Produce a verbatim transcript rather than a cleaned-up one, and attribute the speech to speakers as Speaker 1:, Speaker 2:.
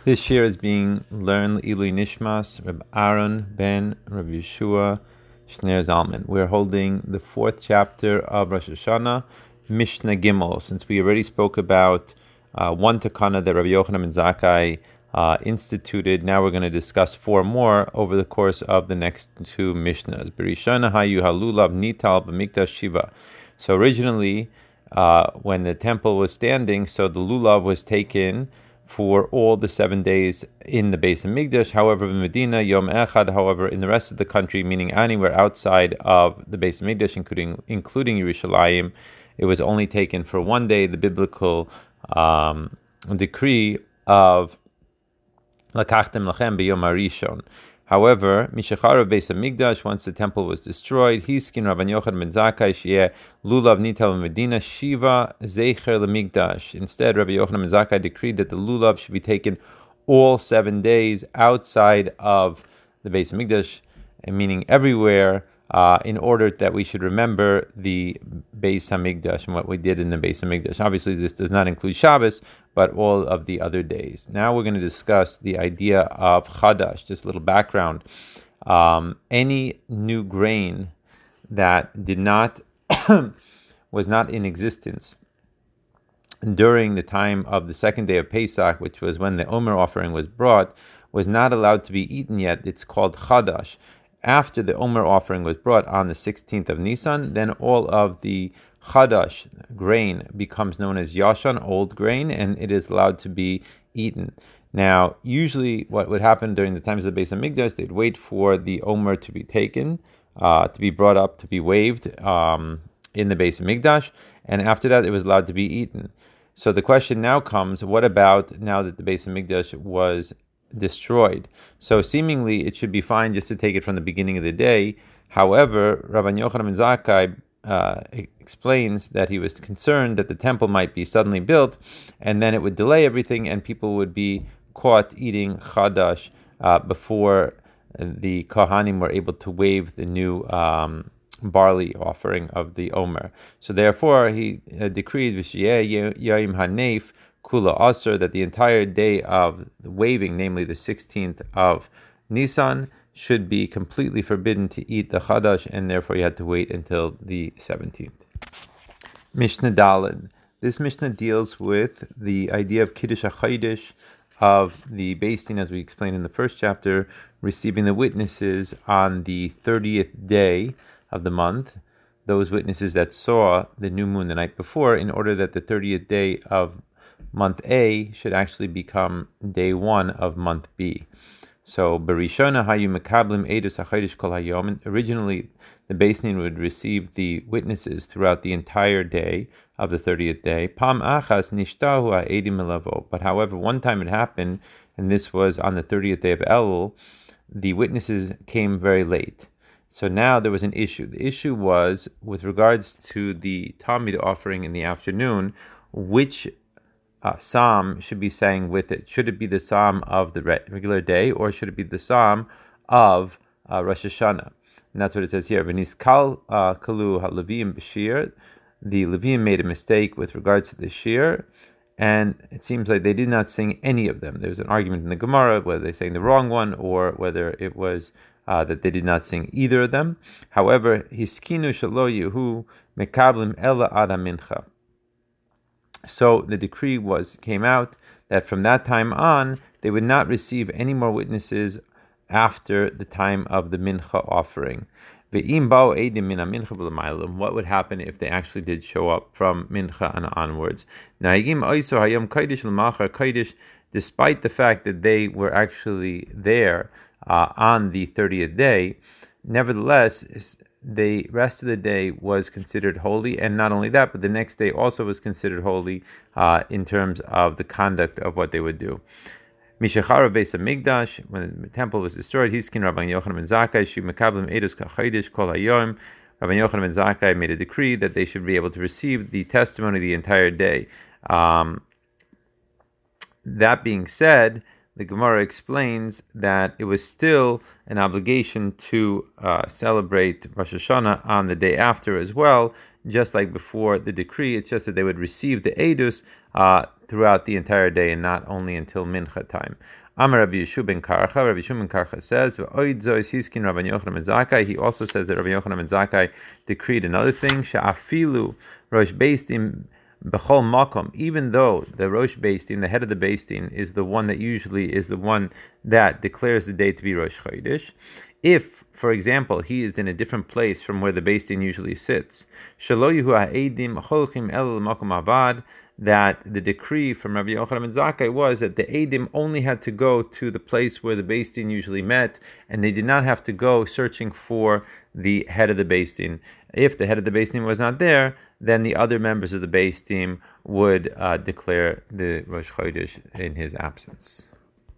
Speaker 1: This year is being learned Ilui Nishmas, Reb Aaron ben Reb Yeshua Shner Zalman. We're holding the fourth chapter of Rosh Hashanah, Mishnah Gimel. Since we already spoke about uh, one takana that Rabbi Yochanan ben Zakkai uh, instituted, now we're going to discuss four more over the course of the next two Mishnahs. Berishana hayu halulav nital b'mikdash shiva. So originally, uh, when the temple was standing, so the lulav was taken for all the seven days in the Beis Hamikdash. However, in Medina, Yom Echad, however, in the rest of the country, meaning anywhere outside of the Beis Hamikdash, including including Yerushalayim, it was only taken for one day. The biblical um, decree of Lakachtem Lachem B'Yom HaRishon. However, Mishachar Beis Hamikdash, once the temple was destroyed, Hiskin Rabban Yochanan ben Zakkai Sheyeh Lulav Nital Medina Shiva Zeicher LeMikdash. Instead, Rabbi Yochanan ben Zakkai decreed that the lulav should be taken all seven days outside of the Beis Hamikdash, meaning everywhere, uh, in order that we should remember the Beis Hamikdash and what we did in the Beis Hamikdash. Obviously, this does not include Shabbos, but all of the other days. Now we're going to discuss the idea of Chadash, just a little background. Um, any new grain that did not, was not in existence during the time of the second day of Pesach, which was when the Omer offering was brought, was not allowed to be eaten yet. It's called Chadash. After the Omer offering was brought on the sixteenth of Nisan, then all of the Chadash grain becomes known as Yashan, old grain, and it is allowed to be eaten. Now, usually what would happen during the times of the Beis Hamikdash, they'd wait for the Omer to be taken, uh, to be brought up, to be waved um, in the Beis Hamikdash, and after that it was allowed to be eaten. So the question now comes, what about now that the Beis Hamikdash was destroyed? So seemingly it should be fine just to take it from the beginning of the day. However, Rabban Yochanan ben Zakkai uh, explains that he was concerned that the temple might be suddenly built, and then it would delay everything, and people would be caught eating Chadash uh, before the Kohanim were able to wave the new um, barley offering of the Omer. So therefore, he uh, decreed V'shiyeh Yom Hanef Kula Asr, that the entire day of the waving, namely the sixteenth of Nisan, should be completely forbidden to eat the Chadash, and therefore you had to wait until the seventeenth. Mishnah Daled. This Mishnah deals with the idea of Kiddush HaChodesh, of the Beis Din, as we explained in the first chapter, receiving the witnesses on the thirtieth day of the month, those witnesses that saw the new moon the night before, in order that the thirtieth day of month A should actually become day one of month B. So, Berishona hayu mekablim edus hachodesh kol hayom. Originally, the Beis Din would receive the witnesses throughout the entire day of the thirtieth day. Pam achas nishtahu ha'edim elavo. But however, one time it happened, and this was on the thirtieth day of Elul, the witnesses came very late. So now there was an issue. The issue was with regards to the Talmud offering in the afternoon, which Uh, psalm should be sang with it. Should it be the psalm of the re- regular day, or should it be the psalm of uh, Rosh Hashanah? And that's what it says here. V'niskal kalu ha-Levim b'shir. The Levim made a mistake with regards to the shir, and it seems like they did not sing any of them. There was an argument in the Gemara whether they sang the wrong one or whether it was uh, that they did not sing either of them. However, hiskinu shelo yehu mekablim ela ada mincha. So the decree was came out that from that time on, they would not receive any more witnesses after the time of the mincha offering. What would happen if they actually did show up from mincha and onwards? Despite the fact that they were actually there uh, on the thirtieth day, nevertheless, the rest of the day was considered holy, and not only that, but the next day also was considered holy uh, in terms of the conduct of what they would do. Mishachar Beis Hamikdash, when the temple was destroyed, Hiskin Rabban Yochanan ben Zakkai Shu Mekablim Edus Kachodesh Kol Hayom. Rabban Yochanan ben Zakkai made a decree that they should be able to receive the testimony the entire day. Um, that being said, the Gemara explains that it was still an obligation to uh, celebrate Rosh Hashanah on the day after as well, just like before the decree. It's just that they would receive the Edus uh, throughout the entire day and not only until mincha time. Amar Rabbi Yeshua ben Karcha, Rabbi Yeshua ben Karcha says, he also says that Rabbi Yochanan ben Zakkai decreed another thing, Sha'afilu Rosh Beis Din B'chol Makom, even though the Rosh Beis Din, the head of the Beis Din, is the one that usually is the one that declares the day to be Rosh Chodesh. If, for example, he is in a different place from where the Beis Din usually sits, Shelo Yehu ha'edim cholchim el makom avad, that the decree from Rabbi Yochanan ben Zakkai was that the Eidim only had to go to the place where the Beis Din usually met, and they did not have to go searching for the head of the Beis Din. If the head of the Beis Din was not there, then the other members of the Beis Din would uh, declare the Rosh Chodesh in his absence.